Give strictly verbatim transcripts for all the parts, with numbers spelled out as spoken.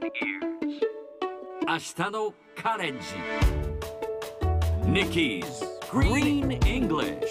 明日のカレッジ Nikki's Green English。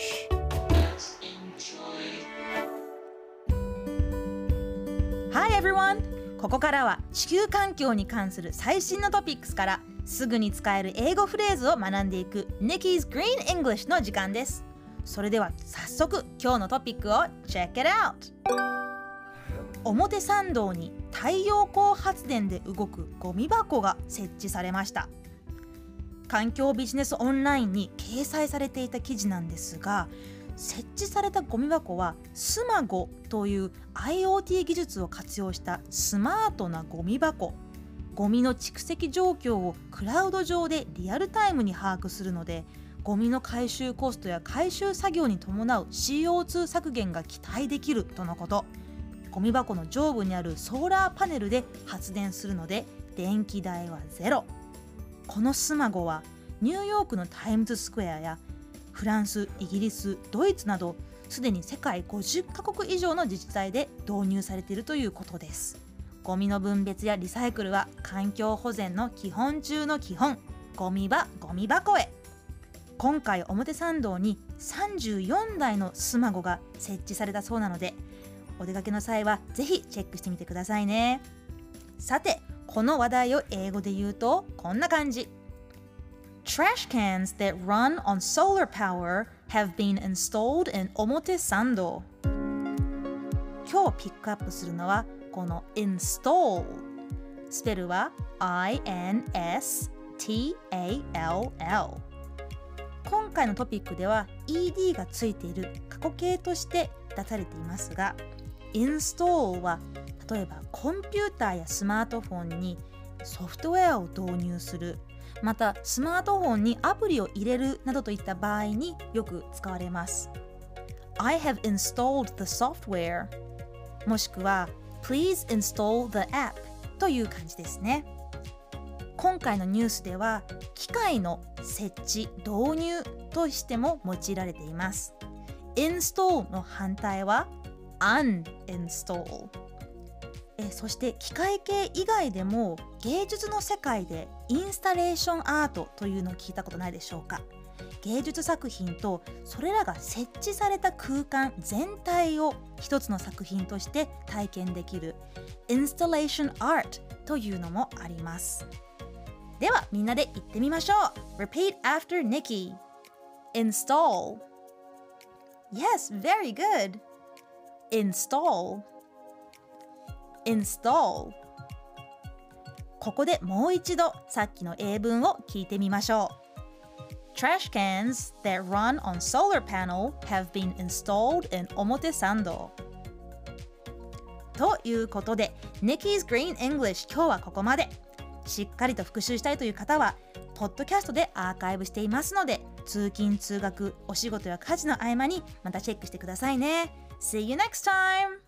Hi everyone! ここからは地球環境に関する最新のトピックスからすぐに使える英語フレーズを学んでいく Nikki's Green English の時間です。それでは早速今日のトピックを Check it out! 表参道に太陽光発電で動くゴミ箱が設置されました。環境ビジネスオンラインに掲載されていた記事なんですが、設置されたゴミ箱はスマゴという IoT 技術を活用したスマートなゴミ箱。ゴミの蓄積状況をクラウド上でリアルタイムに把握するので、ゴミの回収コストや回収作業に伴う シーオーツー 削減が期待できるとのこと。ゴミ箱の上部にあるソーラーパネルで発電するので電気代はゼロ。このスマゴはニューヨークのタイムズスクエアやフランス、イギリス、ドイツなどすでに世界ごじゅっカ国以上の自治体で導入されているということです。ゴミの分別やリサイクルは環境保全の基本中の基本。ゴミ場、ゴミ箱へ。今回表参道にさんじゅうよんだいのスマゴが設置されたそうなので、お出かけの際はぜひチェックしてみてくださいね。さて、この話題を英語で言うとこんな感じ。Trash cans that run on solar power have been installed in Omote Sando。 今日ピックアップするのはこの install。 スペルは アイエヌエスティーエーエルエル。 今回のトピックでは イーディー がついている過去形として出されていますが、install は例えばコンピューターやスマートフォンにソフトウェアを導入する、またスマートフォンにアプリを入れるなどといった場合によく使われます。 I have installed the software もしくは Please install the app という感じですね。今回のニュースでは機械の設置・導入としても用いられています。 install の反対はuninstall。 えそして機械系以外でも芸術の世界でインスタレーションアートというのを聞いたことないでしょうか。芸術作品とそれらが設置された空間全体を一つの作品として体験できるインスタレーションアートというのもあります。ではみんなで言ってみましょう。 Repeat after Nikki. Install. Yes, very good. Install Install。 ここでもう一度さっきの英文を聞いてみましょう。 Trash cans that run on solar panel have been installed in Omote Sando。 ということで Nikki's Green English 今日はここまで。しっかりと復習したいという方はポッドキャストでアーカイブしていますので、通勤通学、お仕事や家事の合間にまたチェックしてくださいね。See you next time!